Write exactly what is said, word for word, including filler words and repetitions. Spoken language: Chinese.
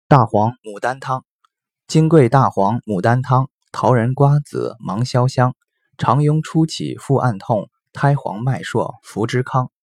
大黄牡丹汤。金匮大黄牡丹汤，桃仁瓜子芒硝香，常痈初起腹暗痛，胎黄脉数服之康。